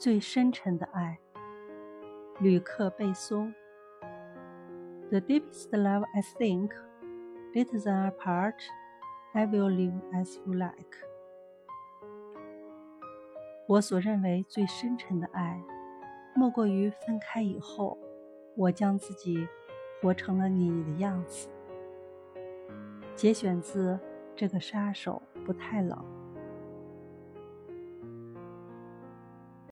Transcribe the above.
最深沉的爱，吕克·贝松。The deepest love I think, better than apart, I will live as you like. 我所认为最深沉的爱，莫过于分开以后，我将自己活成了你的样子。节选自《这个杀手不太冷》。